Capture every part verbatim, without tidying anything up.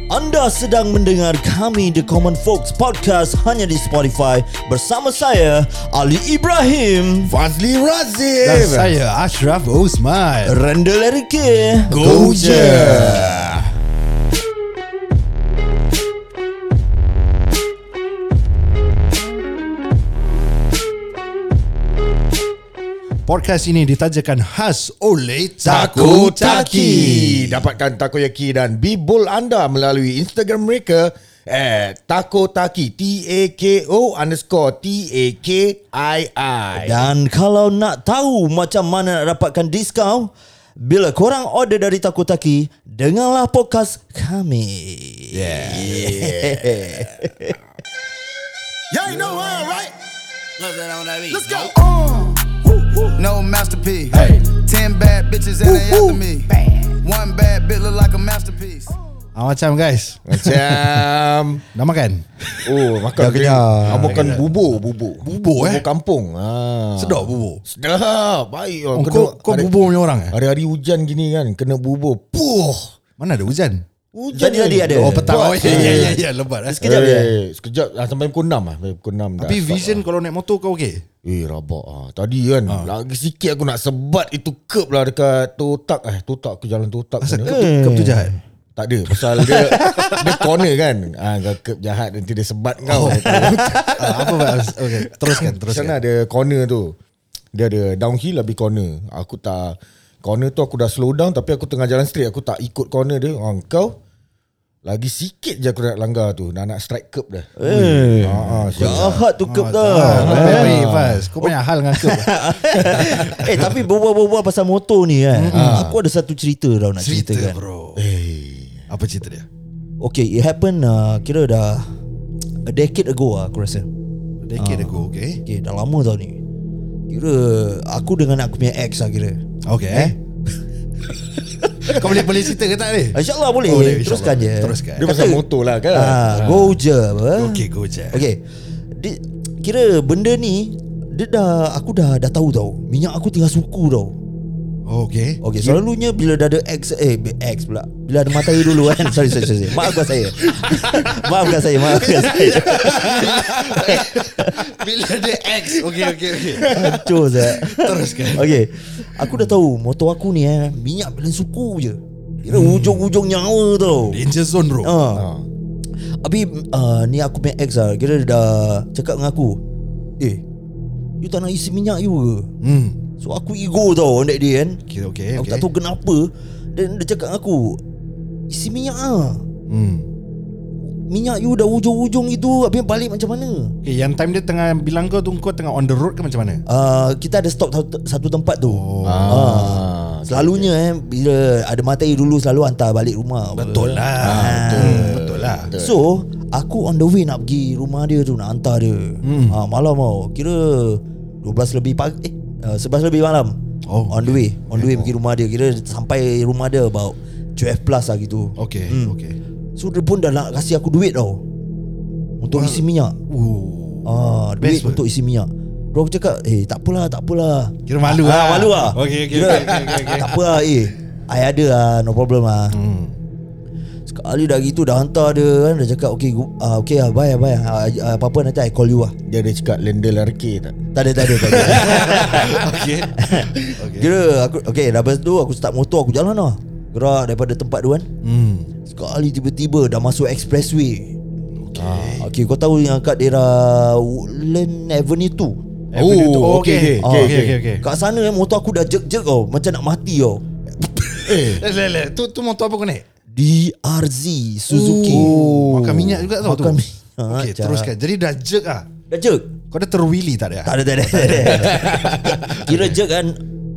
Anda sedang mendengar kami The Common Folks Podcast hanya di Spotify bersama saya Ali Ibrahim, Fazli Razif dan saya Ashraf Osman. Rendel Erike. Go je. Podcast ini ditajakan khas oleh Takotaki. Dapatkan takoyaki dan bibul anda melalui Instagram mereka at Takotaki, T A K O underscore T A K I I. Dan kalau nak tahu macam mana nak dapatkan diskaun, bila korang order dari Takotaki, dengarlah podcast kami. Yeah. Y'all know how, right? Let's go. No masterpiece. Hey. Ten bad bitches and they after me. One bad bitch look like a masterpiece. ah, Macam guys, Macam dah makan? Oh, makan Dah kenyang. ah, makan bubur, bubur. Bubur, eh? Bubur kampung. Ah. Sedap bubur. Sedap. Baik. Oh, kau, kau hari- bubur punya orang eh? Hari-hari hujan gini kan, kena bubur. Puh. Mana ada hujan? Hujan Tadi-tadi ni. ada. Oh petang. Oh Buat- ya ya ya, ya lebat eh? Sekejap je. Eh, sekejap ah, sampai pukul enam lah. Sampai pukul enam dah Tapi start vision lah. kalau naik motor kau okey? Eh rabak ah. Tadi kan lagi sikit aku nak sebat itu curb lah dekat Totak. Eh Totak aku jalan Totak Asal sana. kau tu, kau tu jahat? Tak ada. Pasal dia dia corner kan. Ah, kau curb jahat nanti dia sebat kau. ah, Apa okay, teruskan Di teruskan. sana ada corner tu. Dia ada downhill habis corner. Aku tak corner tu aku dah slow down tapi aku tengah jalan straight aku tak ikut corner dia. Ah, kau lagi sikit je aku nak langgar tu. Nak nak strike curb dah. Eh, Ah, ah, jahat tu kep Ah, dah. Baik-baik Faz. Kau banyak hal dengan kau. Eh tapi berbual-bual pasal motor ni kan, aku ada satu cerita tau nak Cerita ceritakan. bro. Eh. Apa cerita dia? Okay, it happened uh, kira dah a decade ago lah aku rasa. Decade ago, okay? Okay, dah lama tau ni. Kira aku dengan aku punya ex lah kira. Okay. Eh? Kau boleh boleh cerita ke tak ni? InsyaAllah boleh, Oh, boleh, teruskan je. Teruskan. Dia pasal motor lah kan. Ah, go je apa? Okay, go je. Okay, di, kira benda ni dia dah aku dah dah tahu tau. Minyak aku tinggal suku tau. Okay. Okay, selalunya bila dah ada ex eh ex pula. Bila ada matahari dulu kan. sorry, sorry sorry. Maafkan saya. maafkan saya, maafkan saya. Bila dia X. Okay, okay, okay. Hancur saya. Teruskan. Okay, aku dah tahu motor aku ni eh minyak belen suku je. Kira hmm. ujung-ujung nyawa tau. Danger zone bro. Ha. Habis uh, ni aku punya ex lah. Kira dia dah cakap dengan aku, eh, you tak nak isi minyak you ke? Hmm. So aku ego tau on that day kan. Okay, okay, Aku okay. tak tahu kenapa. Dan dia cakap dengan aku, isi minyak lah. Hmm. Minyak you dah ujung-ujung itu. Habis balik macam mana? Okay, yang time dia tengah bilang kau tu, kau tengah on the road ke macam mana? uh, Kita ada stop satu, satu tempat tu. Oh. Ah. Selalunya eh bila ada matahari dulu selalu hantar balik rumah. Betul lah. Ah. Betul. Betul lah. So aku on the way nak pergi rumah dia tu, nak hantar dia. Hmm. ha, Malam tau. Kira dua belas lebih pagi. Eh uh, sebelas lebih malam. Oh, On the way On the way pergi rumah dia. Kira sampai rumah dia about twelve plus lah gitu. Okay, Hmm. okay. So dia pun dah nak kasih aku duit tau untuk isi minyak. Uh. Ah, duit Best pun. untuk isi minyak. Bro aku cakap, eh tak apalah, tak apalah. Kira malu ah, lah. Malu lah. Okay, okay, Kira, okay, okay, okay, okay. tak apa lah, eh I ada lah, no problem lah. Hmm. Sekali dah gitu dah hantar dia kan. Dia cakap okay, uh, okay lah, bye bye. Uh, uh, apa-apa nanti I call you lah. Dia ada cakap Lendel Arcade tak? Tak ada, tak ada, tak ada. Okay. Okay. Kira aku, okay, dah lepas tu aku start motor, aku jalan lah. Gerak daripada tempat tu kan. Hmm. Sekali tiba-tiba dah masuk expressway. Okay, ah, okay kau tahu yang kat daerah Woodland Avenue tu. Avenue tu. Oh, Oh, okay. okay, Okay, okay, okay, okay, okay. Kat sana eh, motor aku dah jerk-jerk tau. Macam nak mati tau. Eh Lele, lele. Tu tu motor apa kau naik? D R Z Suzuki. Oh, makan minyak juga tau tu. Makan minyak. Okay, Cak. teruskan. Jadi dah jerk ah. Dah jerk? Kau dah terwheelie tak ada? Tak ada, tak ada, tak ada. Kira jerk kan.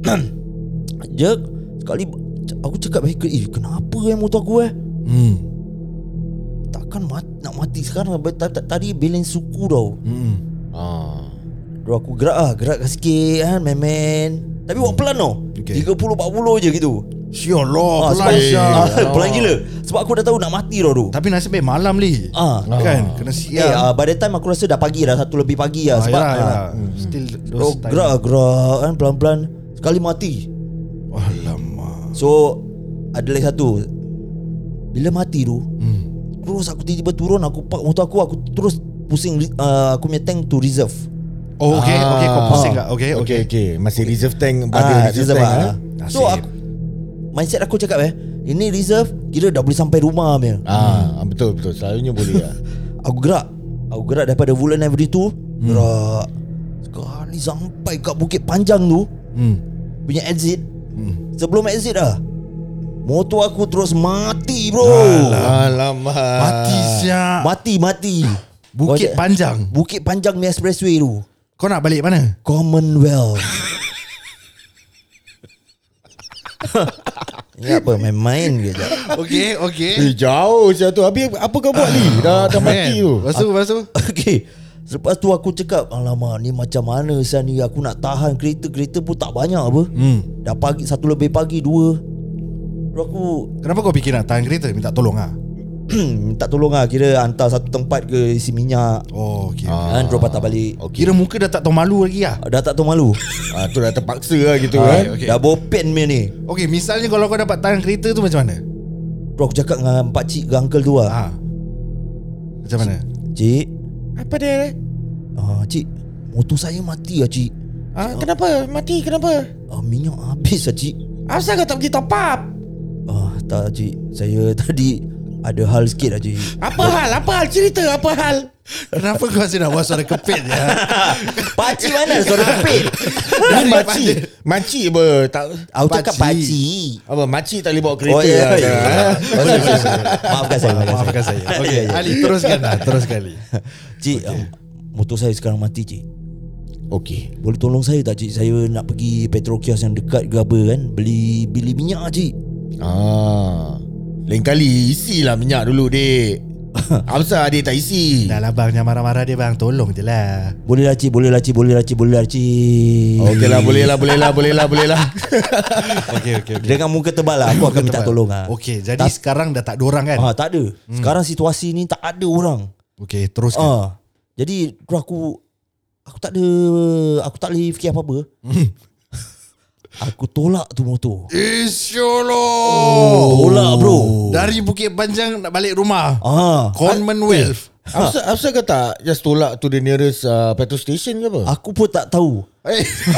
Jerk. Sekali aku cakap baik, eh kenapa eh motor aku eh? Hmm. Takkan mat, nak mati sekarang. Tadi balance suku tau. Hmm. ah. Bro aku gerak lah, gerakkan sikit kan, main-main. Tapi buat pelan tau. Okay. tiga puluh empat puluh je gitu. Syallah, Ah, sebab, pelan Syah. ah, pelan gila. Sebab aku dah tahu nak mati tau tu. Tapi nasib baik malam li. Ah. Kan, kena Eh, siap. uh, by the time aku rasa dah pagi dah, satu lebih pagi lah. Ah, Sebab yalah, yalah. ah, Still bro, those time. gerak gerak kan pelan-pelan. Sekali mati. Alamak. So ada lagi satu. Bila mati tu, Hmm. Terus aku tiba-tiba turun, aku park motor aku, aku terus pusing uh, aku punya tank to reserve. Oh okay, Ah. okay, kau pusing tak? Okay, Okay, okay. okay. Masih reserve tank, Ah, ada reserve tank. ah. ah. So aku, mindset aku cakap eh, ini reserve kira dah boleh sampai rumah punya. Ah, betul betul. Selalunya boleh lah. Aku gerak, aku gerak daripada Woodland Avenue tu, gerak. Sekali sampai kat Bukit Panjang tu, Hmm. punya exit. Sebelum exit dah, motor aku terus mati bro. Alamak. Mati siap. Mati mati. Bukit Kau- Panjang. Bukit Panjang punya expressway tu, Kau nak balik mana? Commonwealth. Ini apa, main-main ke je. Okay, okay. Eh, jauh saya tu. Habis apa kau buat ni? Dah dah mati tu. Lepas tu, lepas tu. Okay, lepas tu aku cakap, alamak ni macam mana saya ni, aku nak tahan kereta. Kereta pun tak banyak apa. Hmm. Dah pagi, satu lebih pagi, dua. Terus aku Kenapa kau fikir nak tahan kereta? Minta tolong ah. minta tolong lah, kira hantar satu tempat ke isi minyak. Oh, okay. Kan terus patah balik. Okay. Kira muka dah tak tahu malu lagi ah. Dah tak tahu malu. Ah, tu dah terpaksa lah gitu Ah, kan. okay. Dah bopen punya ni. Okay, misalnya kalau kau dapat tahan kereta tu macam mana? Terus aku cakap dengan pakcik ke uncle tu lah, Ah. Macam mana? Cik, Apa dia? ah, cik, motor saya mati lah cik. Ah, kenapa? Mati kenapa? ah, Minyak habis lah cik. Asal kau tak pergi top up? Ah, tak cik, saya tadi ada hal sikit lah cik. Apa hal? Apa hal? Cerita apa hal? Kenapa kau asyik nak buat suara kepit ya? Pakcik mana suara kepit? Ni makcik. Makcik apa? Tak, Aku cakap pakcik. apa? Makcik tak boleh bawa kereta. Oh ya, lah. ya. Maafkan saya, Maafkan saya. Okay, Ali teruskan dah, teruskan Ali. Cik, ah, motor saya sekarang mati cik. Okey. Boleh tolong saya tak cik? Saya nak pergi petrokios yang dekat ke apa kan, Beli beli minyak cik. Ah. Lain kali isilah minyak dulu, dek. Apa adik tak isi? Dah lah bang, jangan marah-marah dia bang. Tolong je lah. Boleh lah cik, boleh lah cik, boleh lah cik, boleh lah cik. Okey lah, boleh lah, boleh lah, boleh lah, boleh lah. Okay, okay, okay. Dengan muka tebal lah, aku akan minta tolong lah. Okay, jadi sekarang dah tak ada orang kan? Ah, tak ada. Sekarang situasi ni tak ada orang. Okay, teruskan. Ah, jadi terus aku aku tak ada, aku tak boleh fikir apa-apa. Aku tolak tu motor. Isyolo. Tolak bro. Dari Bukit Panjang nak balik rumah. Ah, Commonwealth. Apa apa kau tak just tolak to the nearest uh, petrol station ke apa? aku pun tak tahu. Eh,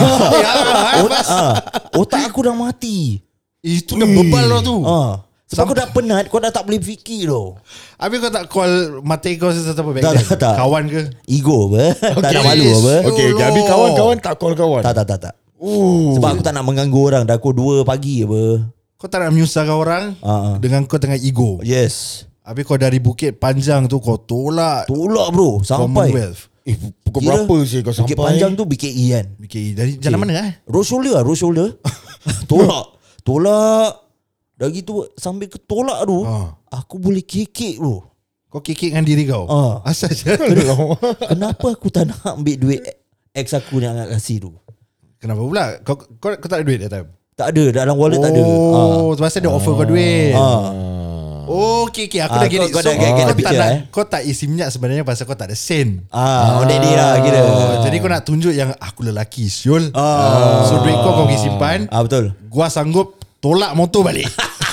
Ot, ah, otak aku dah mati. itu dah bebal lah tu. Ah, sebab kau dah penat, kau dah tak boleh fikir tau. Habis kau tak call mate kau sesuatu apa back Tak, then? tak, tak. Kawan ke? Ego apa? Tak Okay. nak malu apa? Okey, okay, habis kawan-kawan tak call kawan. Tak tak tak tak. Oh. Sebab aku tak nak mengganggu orang. Dah aku dua pagi apa. Kau tak nak menyusahkan orang Ah, ah. dengan kau tengah ego. Yes. Habis kau dari Bukit Panjang tu kau tolak Tolak bro sampai. Commonwealth. Eh, pukul Kira berapa sih kau sampai? Bukit Panjang tu B K E kan. Okay, dari jalan mana eh? Road shoulder lah, road shoulder. Tolak. Tolak. Dah gitu sambil ke tolak tu, Ah. aku boleh kekek bro. Kau kekek dengan diri kau. Ah. Asal je. Kenapa aku tak nak ambil duit ex aku yang nak kasih tu? Kenapa pula? Kau, kau, kau tak ada duit that time? Tak ada, dalam wallet tak ada. Oh, pasal dia offer kau duit. Ah. Oh, okay, okay. Aku Ah, dah get kau- it. kau So, dah get- get the kau tak picture, nak, eh? kau tak isi minyak sebenarnya pasal kau tak ada sen. Ah, on that day lah kira. Oh, jadi kau nak tunjuk yang aku lelaki, Syul. Ah. So, duit kau kau pergi simpan. Ah betul. Gua sanggup tolak motor balik.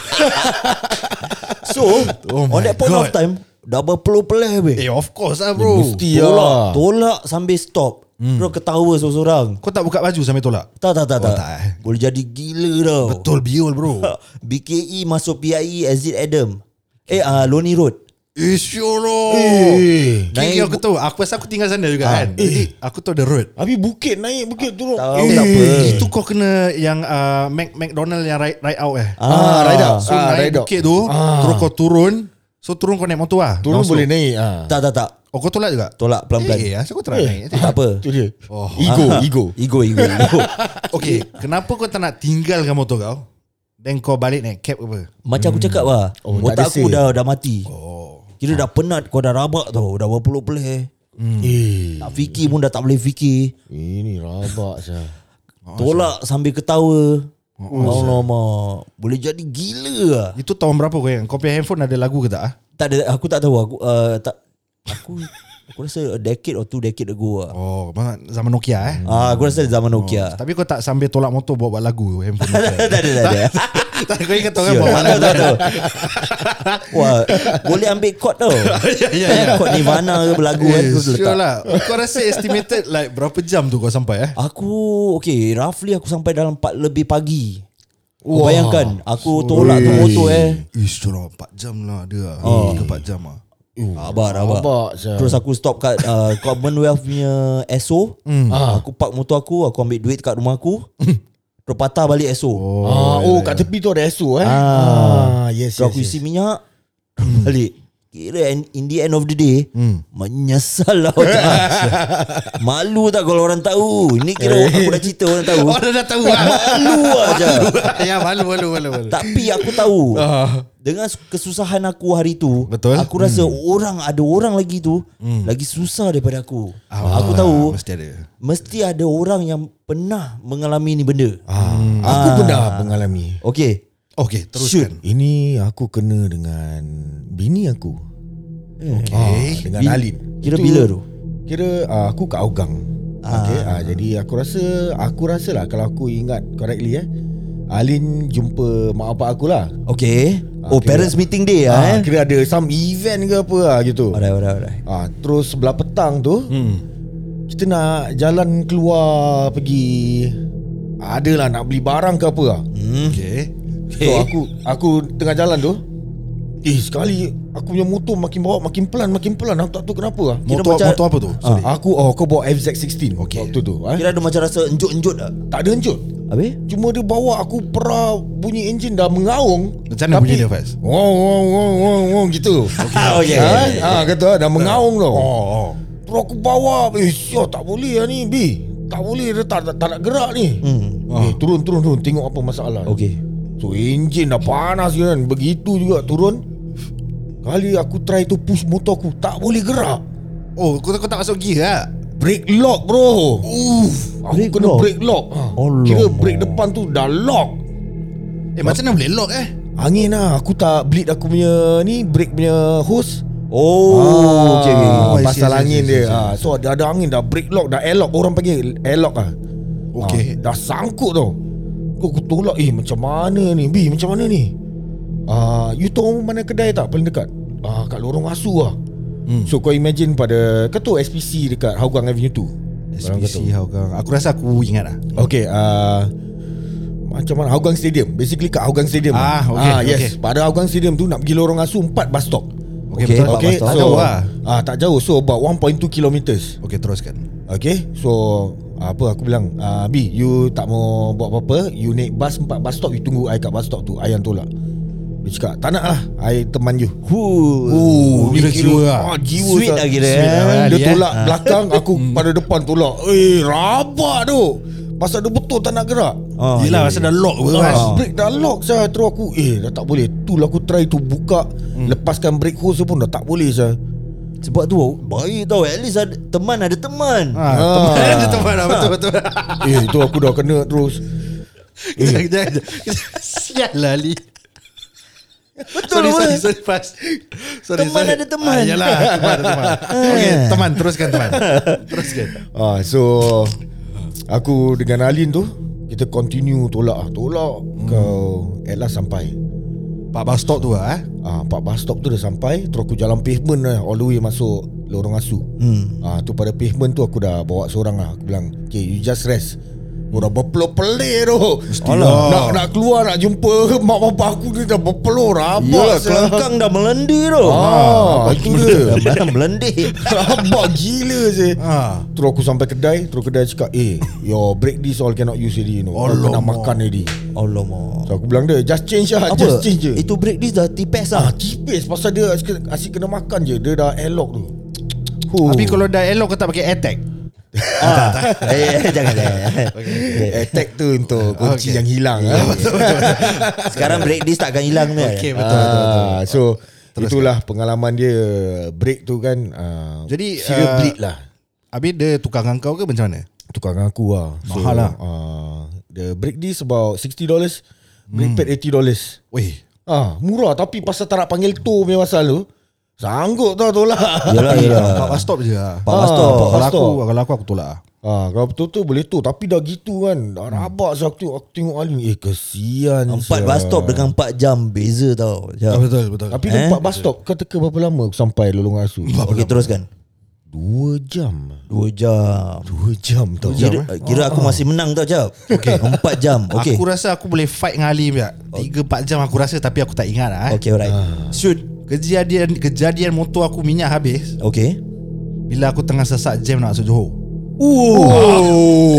So, Oh on my that point God. of time, dah berpeluh-peluh weh. eh, of course lah, bro. Mesti Tolak, lah. tolak sambil stop. Hmm. Terus ketawa seorang-seorang. Kau tak buka baju sampai tolak? Tak tak tak Oh, tak. tak, eh. Boleh jadi gila tau. Betul, biol, bro. B K E masuk P I E exit Adam. Eh ah uh, Lonely Road. Eh, syolo. Eh. Okay, Naik aku tahu. Aku pasal aku tinggal sana juga kan. Jadi, aku tahu the road. Habis bukit naik, bukit turun. Tahu Eh. tak apa. Itu kau kena yang uh, Mac McDonald yang ride, ride out eh. Ah, ride out. So Ah, naik ride out. bukit tu, Ah. terus kau turun. So turun kau naik motor lah. Turun Non-stop. boleh naik. Ah. Tak tak tak. Oh, kau tolak juga? Tolak pelan-pelan. Eh, asal kau try naik? Tak apa. Tu dia. Oh. Ego, Ah. ego. Ego, ego, ego. Okay, kenapa kau tak nak tinggalkan motor kau? Then kau balik naik cab ke apa? Macam aku cakap lah. Oh, tak otak ada aku say. dah dah mati. Oh. Kira dah penat, kau dah rabak tau. Dah berpeluh-peluh. Eh. Nak fikir pun dah tak boleh fikir. Ini rabak sah. Tolak sambil ketawa. Alamak. Boleh jadi gila lah. Itu tahun berapa kau yang? Kau punya handphone ada lagu ke tak? Ah? Tak ada, aku tak tahu. Aku uh, tak aku Aku rasa a decade or two decade ago lah. Oh, zaman Nokia eh. Ah, aku rasa zaman Nokia. Oh, tapi kau tak sambil tolak motor buat buat lagu handphone Nokia. Tak ada, tak ada. Tak, kau ingat orang Sure. buat Tak lagu. tahu, tak tahu. Wah, boleh ambil chord tau. Ya, ya, ya. Chord Nirvana ke berlagu kan, terus Sure letak. lah. Kau rasa estimated like berapa jam tu kau sampai eh? Aku, okay, roughly aku sampai dalam empat lebih pagi. Kau Wah. bayangkan, aku tolak tu motor eh. Ish, curang empat jam lah dia. Oh. tiga empat jam lah. Abang, abang. Abang, Syah. Terus aku stop kat uh, Commonwealth punya S O. Ah. Aku park motor aku, aku ambil duit kat rumah aku. Terus patah balik S O. Oh, Ah, oh, kat tepi tu ada S O eh. Ah. Ah, yes, Terus yes, aku yes. isi minyak balik. Kira in, in the end of the day Hmm. menyesal lah. Malu tak kalau orang tahu. Ini kira aku dah cerita orang tahu. Oh, dah, dah tahu lah. Malu aja. Ya, malu, malu, malu, malu. Tapi aku tahu dengan kesusahan aku hari tu, Betul. aku rasa orang ada orang lagi tu lagi susah daripada aku. Ah, Aku tahu mesti ada. mesti ada orang yang pernah mengalami ni benda. Ah, aku pernah mengalami. Okey. Okay, Shoot. teruskan. Ini aku kena dengan bini aku. Okay. Ah, dengan Bil- Alin. Kira Itu- bila tu? Kira uh, aku kat Hougang. Okay, ah, jadi aku rasa aku rasa lah kalau aku ingat correctly eh, Alin jumpa mak bapak aku lah. Okey. Oh, kira- parents meeting day lah Ah, eh. kira ada some event ke apa lah gitu. Alright, alright, alright. Ah, terus sebelah petang tu Hmm. kita nak jalan keluar pergi, adalah nak beli barang ke apa lah. Hmm. Okay. So aku aku tengah jalan tu, eh sekali aku punya motor makin bawa makin pelan makin pelan. Aku tak tahu kenapa lah. Kira Motor, macam- motor apa tu? Sorry. Aku oh kau bawa F Z sixteen Okay. waktu tu eh? Kira ada macam rasa enjut-enjut tak? Tak ada enjut. Habis? Cuma dia bawa aku pera bunyi enjin dah mengaung. Macam mana bunyi dia, Faiz? Wow wow wow wow, wow gitu. Okey. Ha? Ah kata dah mengaung tau. Oh, oh. Terus aku bawa, eh syok tak boleh lah ni B. Tak boleh, dia tak, tak, tak nak gerak ni. Hmm. Eh turun turun turun tengok apa masalah. Okey. So enjin dah panas kan. Begitu juga turun. Kali aku try to push motor aku, tak boleh gerak. Oh, kau, kau tak masuk gear lah. Brake lock bro. Uff, aku Brake kena lock? brake lock. Ha. Alamak. Kira brake depan tu dah lock. Eh, macam mana boleh lock eh? Angin lah. Aku tak bleed aku punya ni, brake punya hose. Oh, okey. Ah, I see, pasal I see, angin I see, dia. I see. Ah, so ada ada angin dah brake lock, dah airlock. Orang panggil airlock ah. Okey. Ah, dah sangkut tau. Aku, aku tolak, eh macam mana ni B, macam mana ni? Ah, you tahu mana kedai tak paling dekat? Ah, kat Lorong Asu lah. Hmm. So kau imagine pada, kau tahu S P C dekat Hougang Avenue two? S P C Hougang. Aku rasa aku ingat lah. Okay, uh, macam mana? Hougang Stadium. Basically kat Hougang Stadium. Ah, okay, ah, yes. okay. Pada Hougang Stadium tu nak pergi Lorong Asu empat bus stop. Okay, Okay, betul. empat Okay, bus stop. Tak so jauh lah. ah, tak jauh. So about one point two kilometers. Okay, teruskan. Okay, so apa aku bilang, uh, B, you tak mau buat apa-apa, you naik bus empat bus stop, you tunggu I kat bus stop tu, I yang tolak. Dia cakap, tak nak lah, I teman you. Huh. Oh, kira jiwa lah. ah, jiwa Sweet sah. lah kira, Sweet eh. lah. Dia Ali, eh. tolak belakang, aku pada depan tolak. Eh, rabak tu. Pasal dia betul tak nak gerak. Ah, Yelah, ya, pasal ya. dah lock pun Ah, kan. brake dah lock saya. Terus aku, eh dah tak boleh. Tu lah aku try tu buka, lepaskan brake hose pun dah tak boleh saya. Sebab tu baik tau. At least ada teman, ada teman. Ha, Ah. teman ada teman lah. Betul, betul. Eh, tu aku dah kena terus. Kejap, kejap, kejap. Sial lah Ali. Betul Sorry, apa? sorry, sorry, Fas. Sorry, Teman sorry. ada teman. Ah, yalah, teman ada teman. Okay, teman, teruskan teman. Teruskan. Ah, so aku dengan Alin tu kita continue tolak ah, tolak hmm. kau at last sampai. Pak bus stop tu lah eh. Ah, empat bus stop tu dah sampai. Terus aku jalan pavement lah, all the way masuk Lorong Asu. Hmm. Ah, tu pada pavement tu aku dah bawa seorang lah. Aku bilang, okay, you just rest. Aku dah berpeluh-peluh tu. Alah. Nak nak keluar nak jumpa mak bapak aku dia dah berpeluh rabak. Yalah, saya. kelangkang dah melendir tu. Ah, itu dia. Dah melendir. Rabak gila saya. Ah. Terus aku sampai kedai, terus kedai cakap, "Eh, your brake disc all cannot use already, you know. Kau kena Alamak. makan already." Alamak. So aku bilang dia, "Just change lah, Apa? just change je." Itu break disc dah tipis Ah, lah. tipis pasal dia asyik, asyik kena makan je. Dia dah airlock tu. Huh. Tapi kalau dah elok kau tak pakai AirTag. Ah, eh, eh, jangan jangan. attack tu untuk kunci Okay. yang hilang. Ya, ah. betul, betul, betul. Sekarang break disc takkan hilang ni. Okay, betul, betul, betul. Ah, so itulah pengalaman dia break tu kan. ah, Jadi, serious ah, bleed lah. Habis dia tukar dengan kau ke macam mana? Tukar dengan aku lah. Mahal lah. uh, The break disc about sixty dollars, brake pad eighty dollars. Weh, Ah, murah tapi pasal tak nak panggil tow punya pasal tu. Sanggup tau tolak. Yalah, yalah. Pak bus stop je lah. Pak bus stop. Ah, Pak Kalau bus aku, stop. kalau aku aku tolak lah. Ah, kalau betul-betul boleh tu. Tapi dah gitu kan, dah rabak so aku, aku tengok Ali ni. Eh kesian. Empat sial. bus stop dengan empat jam beza tau. Jap. Betul, betul. Tapi Eh? eh? empat bus stop kau teka berapa lama aku sampai Lolong Asu? Okey, teruskan. Dua jam. Dua jam. Dua jam tau. Kira, kira aku masih menang tau, Jap. Okey, empat jam. Okey. Aku rasa aku boleh fight dengan Ali pula. tiga empat jam aku rasa, tapi aku tak ingat lah. Eh. Okey, alright. Shoot. Kejadian kejadian motor aku minyak habis Okey. bila aku tengah sesak jam nak masuk Johor. Oh.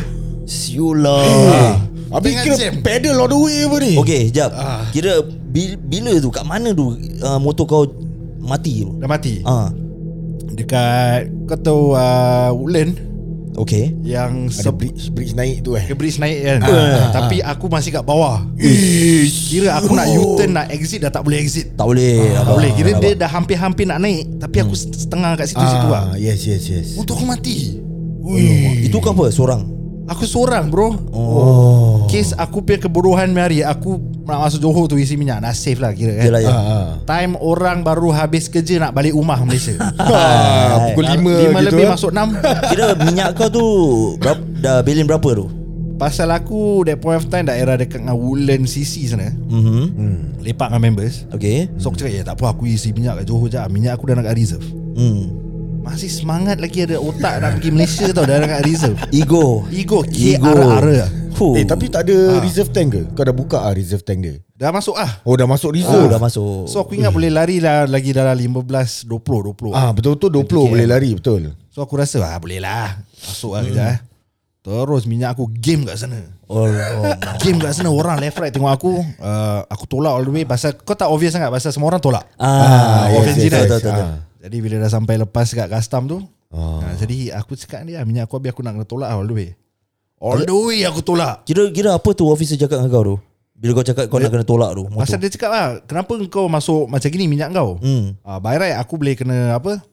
Siulah. Habis Tengah kira jam. pedal all the way apa ni? Okey, jap. Kira bil, bila tu, kat mana tu uh, motor kau mati tu? Dah mati. Ah, Dekat kau tahu uh, Woodland okey. yang Ada bridge, bridge naik tu eh. ke bridge naik kan. Tapi aku masih kat bawah. Kira aku nak U-turn nak exit dah tak boleh exit. Tak boleh. Tak abang. boleh. Kira Abang. dia dah hampir-hampir nak naik, tapi aku setengah kat situ-situ lah. Ah, yes yes yes. Motor aku mati. Itu kau apa? Seorang? Aku seorang bro. Oh. Kes aku punya kebodohan hari aku nak masuk Johor tu isi minyak. Nak save lah kira kan. Yalah, ya. Ah, ah. Time orang baru habis kerja nak balik rumah Malaysia. Ah, pukul lima Lima gitu. lebih eh. masuk enam. Kira minyak kau tu berapa, dah bilin berapa tu? Pasal aku that point of time daerah dekat dengan Woodland C C sana. Mhm. Hmm. Lepak dengan members. Okey. So aku cakap ya tak apa, aku isi minyak kat Johor je. Minyak aku dah nak kat reserve. Hmm. Masih semangat lagi ada otak nak pergi Malaysia tau. Dah nak kat reserve. Ego. Ego Ego. K-ara-ara. Huh. Eh tapi tak ada reserve tank ke? Kau dah buka ah reserve tank dia? Dah masuk ah. Oh dah masuk Oh, reserve. dah masuk. So aku ingat boleh lari lah lagi dalam lima belas, dua puluh, dua puluh. Ah betul-betul dua puluh boleh lari betul. So aku rasa ah boleh lah. Masuk lah kejap eh. Terus minyak aku game kat sana. Oh, oh. Game kat sana orang left right tengok aku. Uh, aku tolak all the way pasal kau tak obvious sangat pasal semua orang tolak. Ah, yes, yes, yes, yes, yes. betul, betul, betul. Ah. Jadi bila dah sampai lepas kat custom tu, uh, jadi aku cakap dia minyak aku habis aku nak kena tolak all the way. All the way aku tolak. Kira-kira apa tu officer cakap dengan kau tu? Bila kau cakap kau nak kena tolak tu motor. Pasal dia cakap lah, kenapa kau masuk macam gini minyak kau? Hmm. Uh, by right aku boleh kena apa?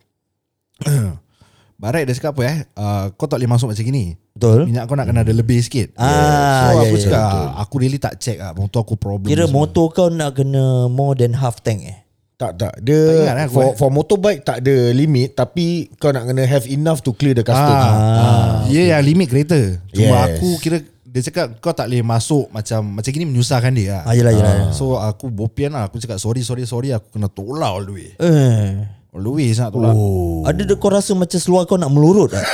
By right dia cakap apa eh? Uh, kau tak boleh masuk macam gini. Betul. Minyak kau nak kena ada lebih sikit. Ah, So ya, aku ya, cakap betul. aku really tak check lah. Motor aku problem. Kira semua. motor kau nak kena more than half tank eh? Tak tak. Tak Dia ingat lah aku, for eh. for motorbike tak ada limit tapi kau nak kena have enough to clear the custom. Ah, ah, dia yang limit kereta. Cuma Yes. aku kira dia cakap kau tak boleh masuk macam macam gini menyusahkan dia lah. Ah, yelah, yelah. So aku bopian lah. Aku cakap sorry sorry sorry aku kena tolak all the way. Eh. All the way sangat tolak. Oh. Ada dia kau rasa macam seluar kau nak melurut tak?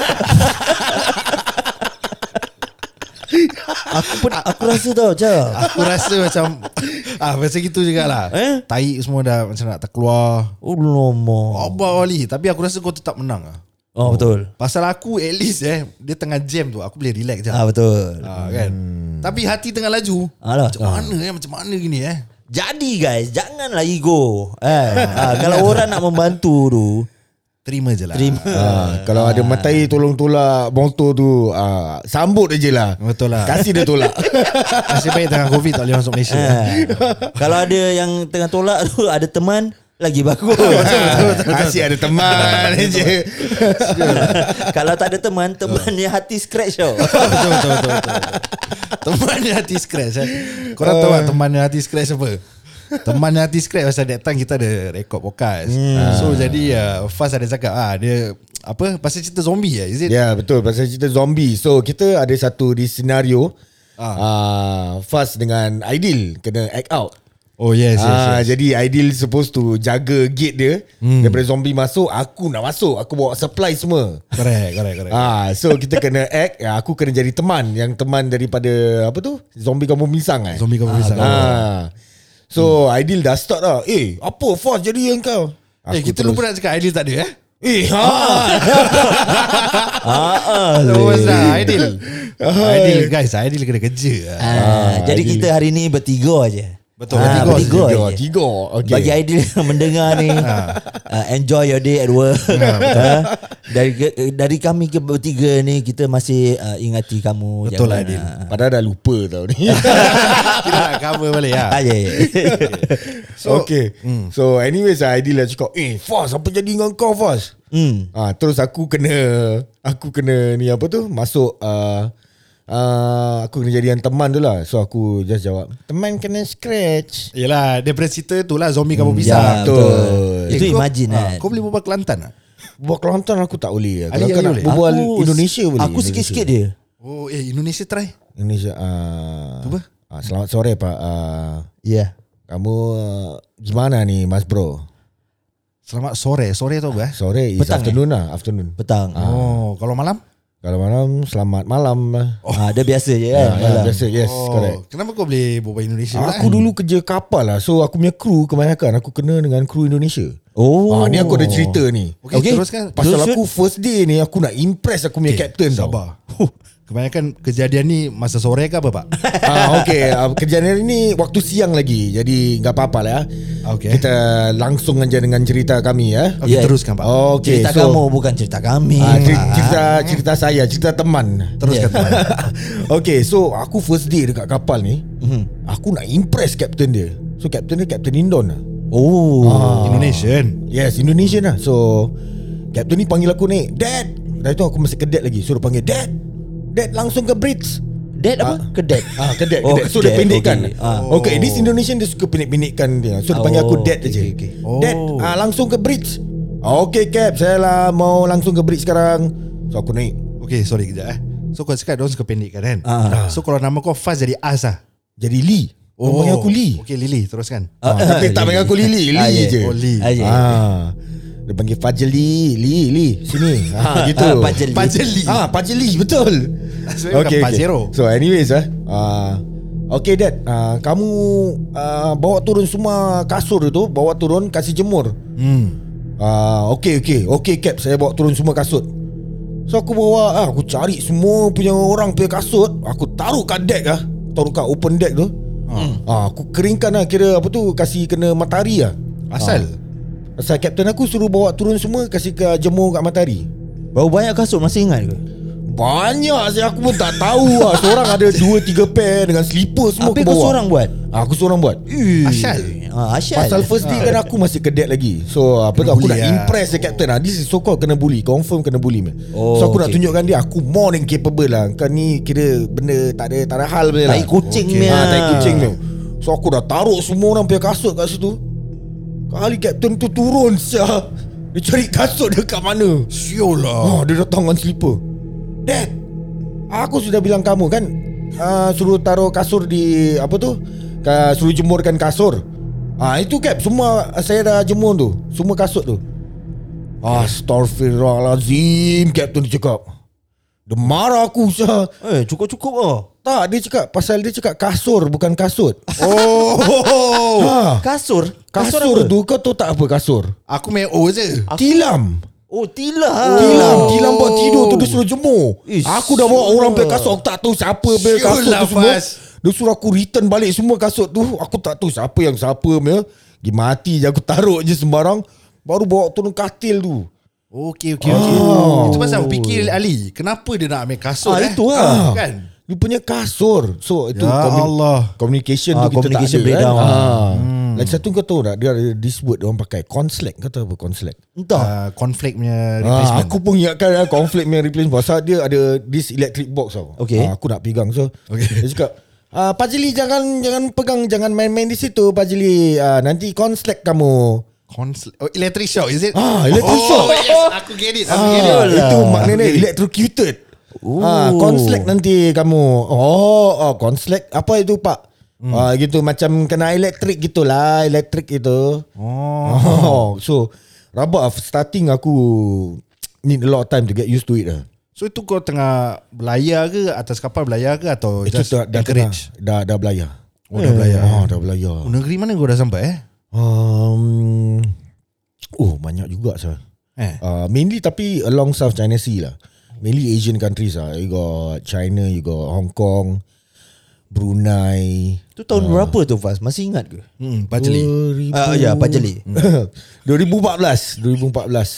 Aku pun aku rasa tau, Cak. Aku rasa macam ah macam gitu jugalah. Eh? Tai semua dah macam nak terkeluar. Oh, lama. Abang Ali, tapi aku rasa kau tetap menang ah. Oh, betul. Pasal aku at least eh dia tengah jam tu aku boleh relax je. Ah, betul. Ah, kan. Tapi hati tengah laju. Alah. Macam mana eh macam mana gini eh? Jadi guys, janganlah ego. Eh, ah, kalau orang nak membantu tu, Terima je lah. terima. Ah, kalau ada matai tolong tolak motor tu, ah, sambut aje lah. Betul lah. Kasih dia tolak. Nasib baik tengah Covid tak boleh masuk Malaysia. Eh, kalau ada yang tengah tolak tu ada teman, lagi bagus. Kasih ada teman aje. Kalau tak ada teman, teman dia hati scratch tau. betul, betul, betul, betul. Teman dia hati scratch eh. Korang tahu tak teman dia hati scratch apa? Teman dia hati scratch pasal that time kita ada record podcast. Hmm. So jadi uh, Faz ada cakap ah dia apa pasal cerita zombie ya, is it? Ya betul pasal cerita zombie. So kita ada satu di senario Ah. ah. Fast dengan Aidil kena act out. Oh yes, yes, Ah, yes. jadi Aidil supposed to jaga gate dia hmm. daripada zombie masuk. Aku nak masuk. Aku bawa supply semua. Correct, correct, correct. Ah, so kita kena act. Ya, aku kena jadi teman yang teman daripada apa tu? Zombie kampung pisang eh. Zombie kampung pisang. Ah. So hmm. Aidil dah start lah. Eh, apa Fast jadi yang kau? Eh kita lupa nak cakap Aidil tak ada eh. Eh, ha. Ah, ah. Oh pasal Aidil. Aidil guys, Aidil kena kerja. Ah, jadi Aidil. kita hari ni bertiga aja. Betul, Ah, bertiga, bertiga tiga, aje. tiga. Okay. Bagi Aidil yang mendengar ni, uh, enjoy your day at work. uh, dari dari kami ke bertiga ni kita masih uh, ingati kamu. Betul jangan, lah, Aidil. uh, Padahal dah lupa tau ni. Kita nak cover balik lah. Ah, ya, ya. So, okay. Mm. So anyways Aidil lah cakap, eh Fast apa jadi dengan kau Fast? Hmm. Ah, terus aku kena aku kena ni apa tu masuk uh, uh, aku kena jadi yang teman tu lah. So aku just jawab, teman kena scratch. Yelah, daripada cerita tu lah zombie kampung Hmm, pisang. ya, Betul. Itu kau- imagine ah, kan. Kau boleh berbual Kelantan tak? Buat Kelantan aku tak boleh. Ali- Ali Kalau nak boleh? berbual Aku- Indonesia boleh. Aku sikit-sikit dia. Oh eh Indonesia try. Indonesia. Uh, Cuba. Uh, selamat sore Pak. Uh, Ya yeah. kamu uh, gimana nih Mas Bro? Selamat sore. Sore tu apa? Eh? Sore is Petang, afternoon lah. Afternoon. Petang. Oh, kalau malam? Kalau malam selamat malam lah. Oh. Ah, dia biasa je Ya, kan. ya, malam. biasa. Yes, Oh, correct. kenapa kau boleh berbual Indonesia? Aku dulu kerja kapal lah. So aku punya kru kebanyakan aku kena dengan kru Indonesia. Oh. Ah, ni aku ada cerita ni. Okay, Okay. teruskan. Pasal Terus, aku first day ni aku nak impress aku punya Okay, captain tau. sabar. Kebanyakan kejadian ni masa sore ke apa, Pak? Ah, okay. Uh, kejadian ini waktu siang lagi. Jadi tak apa-apa lah ya. Okay. Kita langsung aja dengan cerita kami ya. Okay, Yeah. teruskan, Pak. Okay, Cerita so, kamu bukan cerita kami. Ah, cerita, Pak. cerita cerita saya, cerita teman. Teruskan, Pak. Okay, so aku first day dekat kapal ni, mm-hmm. aku nak impress captain dia. So captain dia Captain Indon lah. Oh. Indonesian. Yes, Indonesian lah. So captain ni panggil aku ni, Dad. Dari tu aku masih kedet lagi. So dia panggil Dad. Dad langsung ke bridge. Dad apa? Kedet. Ah, kedet, Oh, kedet. So dia kedet, pendekkan. okay. Ah. Okay, this Indonesian dia suka pendek-pendekkan dia. So dia panggil aku Oh, Dad okay, aja. okay, okay. Dad, Oh. ah, langsung ke bridge. Ah, okay Cap, saya lah mau langsung ke bridge sekarang. So aku naik. Okay, sorry kejap eh. So kau cakap diorang suka pendekkan kan? Ah. So kalau nama kau Faz jadi As lah. Jadi Lee. Oh, panggil aku Lee. Okay, Lily, teruskan. Ah, tapi tak panggil aku Lily, Ah, Lee yeah. je. Oh, Lee. Ah, yeah. Ah. Dia panggil Fajli, Lee, Lee, sini. Ah, gitu. Ah, Fajli. Fajli. Ah, Fajli, betul. Sebenarnya bukan Pajero. So anyways ah, uh, okay Dad, uh, kamu uh, bawa turun semua kasur itu, bawa turun kasih jemur. Hmm. Uh, okay okay, okay Cap, saya bawa turun semua kasut. So aku bawa, ah, aku cari semua punya orang punya kasut, aku taruh kat deck ah, taruh kat open deck tu. Hmm. Ah, aku keringkan lah, kira apa tu, kasih kena matahari lah. Asal? Ah. Asal kapten aku suruh bawa turun semua, kasih ke jemur kat matahari. Berapa banyak kasut masih ingat ke? Banyak saya, aku pun tak tahu lah. Seorang ada dua tiga pair dengan slipper semua Apa aku kau bawa. seorang buat? Ah, Aku seorang buat. Asyal. Ah, Asyal. Pasal first day kan aku masih kedet lagi. So apa tu, Kena aku bully nak lah. impress the captain lah. This is so called kena bully. Confirm kena bully man. Oh, So aku nak okay. tunjukkan dia aku more than capable lah. Kan ni kira benda tak ada tak ada hal punya lah. Tai kucing Okay. punya. Ah, tai kucing tu. So aku dah taruh semua orang punya kasut kat situ. Kali captain tu turun sia. Dia cari kasut dia kat mana. Siul lah. Oh, dia datang dengan slipper. Dad, aku sudah bilang kamu kan, uh, suruh taruh kasur di apa tu? Ka, suruh jemurkan kasur. Ah, itu Cap, semua saya dah jemur tu, semua kasut tu. Astaghfirullahalazim, Captain dia cakap. Dia marah aku sah. Eh, cukup-cukup oh. Tak, dia cakap pasal dia cakap kasur bukan kasut. Oh. Ha, Kasur? kasur, apa? tu kau tahu tak apa kasur? Aku main O je. Tilam. Oh, tilam. Tilam, tilam buat tidur tu dia suruh jemur. Ish, Aku dah bawa orang punya kasut, aku tak tahu siapa punya Siul kasut lah, tu semua. Faz. Dia suruh aku return balik semua kasut tu. Aku tak tahu siapa yang siapa punya. Pergi mati je, aku taruh je sembarang. Baru bawa turun katil tu. Okey, okey, okey. Oh. Itu pasal aku fikir Ali, kenapa dia nak ambil kasut Ah, eh? itu lah. Kan? Dia punya kasur. So itu Ya Allah. communication Ah, tu kita communication tak ada breakdown kan. lah. Ah. Lagi satu kau tahu tak, dia ada this word dia orang pakai Conslack. Kau tahu apa Conslack? Entah. Uh, conflict punya Ah, replacement. aku pun ingatkan lah, conflict punya replacement. Pasal dia ada this electric box tau. Okay. Ah, aku nak pegang. So Okay. dia cakap, ah, Pak Jili jangan jangan pegang, jangan main-main di situ Pak Jili. Ah, nanti Conslack kamu. Conflict. Oh, electric shock is it? Ah, electric oh, shock. yes, aku get it. Aku Ah, get it. lah. itu maknanya electrocuted. Ooh. Ah, Conslack nanti kamu. Oh, oh Conslack apa itu Pak? Hmm. Ah, gitu macam kena elektrik gitulah, elektrik itu. Oh. Oh, so rabak starting aku need a lot of time to get used to it lah. So itu kau tengah berlayar ke, atas kapal berlayar ke, atau Itu just dah, dah, encourage? dah, dah belayar. Oh, dah berlayar. Oh, dah belayar. Oh, negeri mana kau dah sampai eh? Um, oh, banyak juga sah. Eh. Uh, mainly tapi along South China Sea lah. Mainly Asian countries lah. You got China, you got Hong Kong, Brunei. Tu tahun berapa tu Faz? Masih ingat ke? Hmm, Pajeli. Ah, ya, Pajeli. dua ribu empat belas dua ribu empat belas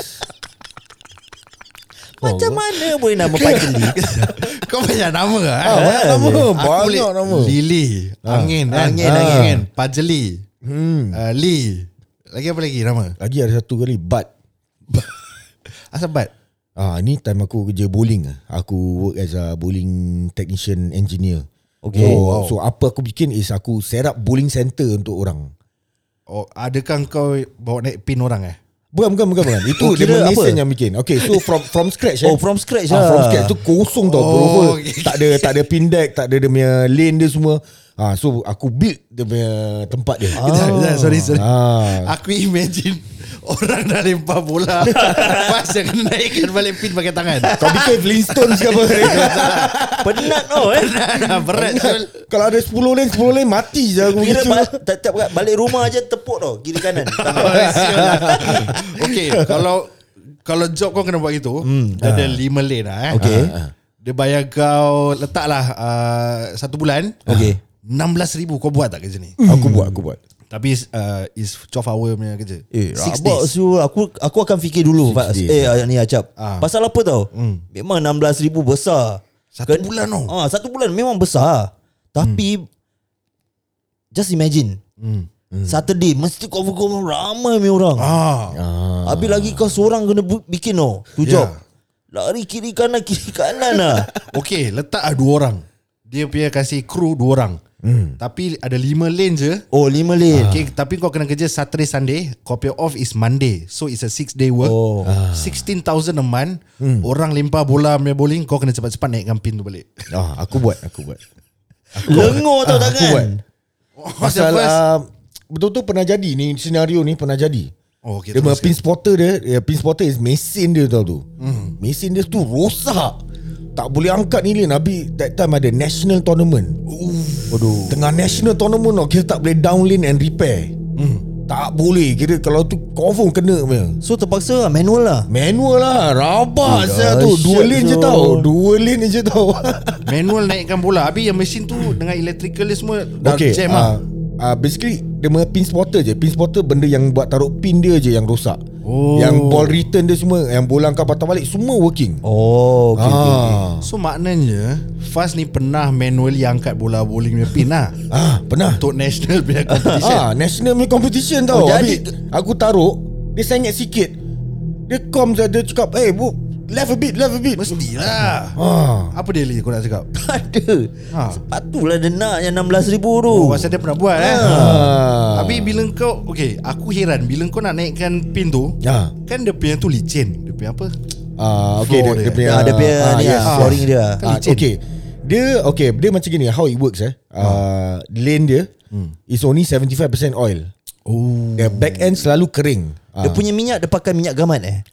Macam mana boleh nama Pajeli? Kau banyak nama ke? Ah, banyak nama. Aku Banyak boleh nama. Lily, Angin, kan? Angin, Ah. Angin. Pajeli, hmm. uh, Lee. Lagi apa lagi nama? Lagi ada satu kali But. Asal Bat? Ah, ni time aku kerja bowling. Aku work as a bowling technician engineer. Okay. So, wow. so apa aku bikin is aku set up bowling center untuk orang. Oh, adakah kau bawa naik pin orang eh? Bukan bukan bukan, bukan. Itu Oh, dia kira Mason apa? yang bikin. Okay, so from from scratch eh. Oh, from scratch ah, lah. From scratch tu kosong tau Oh, bro. okay. Tak ada tak ada pin deck, tak ada dia punya lane dia semua. Ah, so aku build dia punya tempat dia. Kejap, kejap, sorry sorry. Ah. Aku imagine orang dah lempar bola, pas yang kena naikkan balik pin pakai tangan. Kau bikin Flintstones ke apa? Penat oh eh. Berat Syul. Kalau ada sepuluh lane sepuluh lane mati je aku Kira gitu. ba- tiap balik rumah aja tepuk tau kiri kanan. Okay, kalau kalau job kau kena buat gitu, dia ada lima lane lah eh. Okay. Dia bayar kau letaklah uh, satu bulan. Okay. enam belas ribu kau buat tak kerja ni? Aku buat, aku buat. Tapi uh, is twelve hour punya kerja. Eh, Six rabak days. Syul. Aku aku akan fikir dulu Faz. days. Eh ni Acap. Ah. Pasal apa tau? Memang enam belas ribu besar. Satu bulan tau. Ah, satu bulan memang besar. Tapi just imagine. Hmm. Saturday mesti confirm ramai punya orang. Ah. Ah. Habis lagi kau seorang kena bu- bikin tau. Tu Ya. job. Lari kiri kanan kiri kanan lah. Okay, letak lah dua orang. Dia punya kasih kru dua orang. Hmm. Tapi ada lima lane je. Oh lima lane. Okay, tapi kau kena kerja Saturday Sunday. Kau punya off is Monday. So it's a six day work. Oh. sixteen thousand a month. Orang lempar bola punya bowling, kau kena cepat-cepat naikkan pin tu balik. Ah, aku buat, aku buat. Lengur tau Ah, aku buat. tangan. Pasal uh, betul-betul pernah jadi ni, senario ni pernah jadi. Oh, okay, Dia punya teruskan. pin spotter dia, ya, pin spotter is mesin dia tau tu. Hmm. Mesin dia tu rosak. Tak boleh angkat ni lane. Habis that time ada national tournament. Waduh. Tengah national tournament tau, kita tak boleh down lane and repair. Hmm. Tak boleh. Kira kalau tu confirm kena punya. So terpaksa lah, manual lah. Manual lah. Rabak Oh, saya tu. Dua dahsyat lane je tu. tau. Dua lane je tau. Manual naikkan bola. Habis yang mesin tu dengan electrical dia semua dah Okay, jam uh, lah. uh, basically dia punya pin spotter je. Pin spotter benda yang buat taruh pin dia je yang rosak. Oh. Yang ball return dia semua, yang bola kau patah balik semua working. Oh okay, okay, okay. ah. So maknanya Faz ni pernah manually angkat bola bowling punya pin lah. ah, pernah. Untuk national punya competition. Ah, national punya competition tau. Oh, Oh, jadi- Habis aku taruh, dia sengit sikit. Dia com je, dia cakap, "Eh, bu, left a bit, left a bit." Mestilah. Ah. Apa dia li kau nak cakap? Tak ada. Ha. Sepatutlah dia nak yang enam belas ribu tu. Oh, pasal dia pernah buat eh. Ah. Habis bila kau, okay, aku heran bila kau nak naikkan pin tu, Ah. kan dia punya tu licin. Dia punya apa? Ah, okay, Floor dia, dia dia. punya Ah, dia punya ni lah, yes, flooring yes. dia. Ah, licin. okay. Dia okay, dia macam gini, how it works eh. Uh, lane dia is only seventy-five percent oil. Oh. The back end selalu kering. Dia Ah. punya minyak dia pakai minyak gamat eh.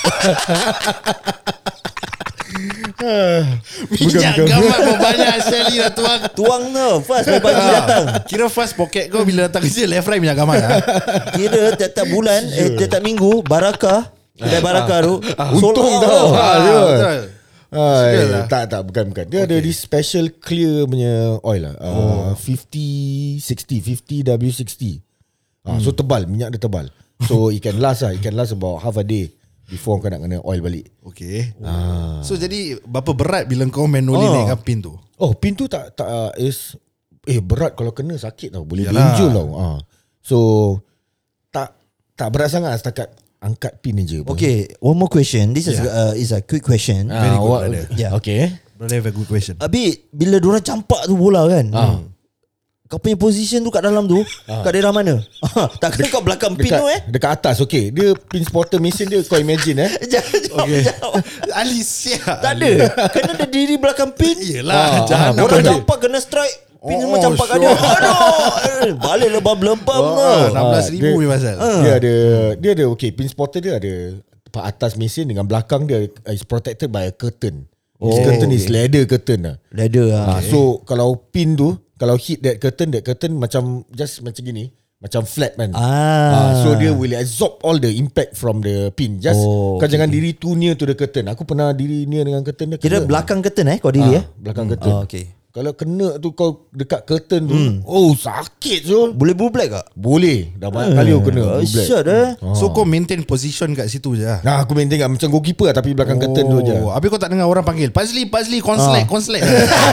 Minyak bukan. gamat banyak sekali dah tuang. Tuang tau Fast pagi datang. Kira fast pocket kau bila datang kerja left right minyak gamat lah. Kira tiap-tiap bulan eh tiap-tiap minggu Barakah kedai Barakah tu Untung sold out tau. tau. Ah, betul. betul. Ah, Serius eh, lah? tak tak bukan bukan. Dia okay. ada di special clear punya oil lah. Uh, oh. fifty sixty fifty W sixty. Ah, so tebal, minyak dia tebal. So it can last lah, it can last about half a day before kau nak kena oil balik. Okay. Ah. So jadi berapa berat bila kau manually Oh. naikkan pin tu? Oh, pin tu tak tak uh, is eh berat kalau kena sakit tau, boleh Yalah. benjol tau. Ah. So tak tak berat sangat setakat angkat pin je. Okay, one more question. This is Yeah. uh, is a quick question. Ah, Very good, what- brother. Yeah. Okay. Brother have a good question. Habis bila diorang campak tu bola kan, Ah. kau punya position tu kat dalam tu, kat daerah mana? Takkan kau belakang pin Dekat, tu eh? dekat atas. Okay, dia pin spotter mesin dia kau imagine eh. Jangan jawab, Okay. jawab. Ali siap. Tak ada. Kena dia diri belakang pin. Yelah, Ah, jangan. ah, Orang betul. campak kena strike. Pin Oh, semua campak kat sure. dia. Aduh. Balik lebam-lebam Oh, tau. enam belas ribu ni pasal. Dia ada dia ada okay, pin spotter dia ada tempat atas mesin dengan belakang dia is protected by a curtain. This Oh, curtain is okay. leather curtain lah. Leather lah. Ah, so kalau pin tu kalau hit that curtain, that curtain macam just macam gini, macam flat kan. Ah. so dia will absorb all the impact from the pin. Just Oh, kau okay, jangan diri too near to the curtain. Aku pernah diri near dengan curtain dia. Kira kena. belakang curtain eh kau diri Ah, eh? belakang curtain. Oh, okay. Kalau kena tu kau dekat curtain tu, oh sakit Zul. Boleh blue black tak? Boleh. Dah banyak kali aku kena blue black. Dahsyat eh. So kau maintain position kat situ je lah. Nah, aku main tengok macam goalkeeper lah, tapi belakang curtain tu je. Habis kau tak dengar orang panggil Pazli, Pazli, konslek, konslek.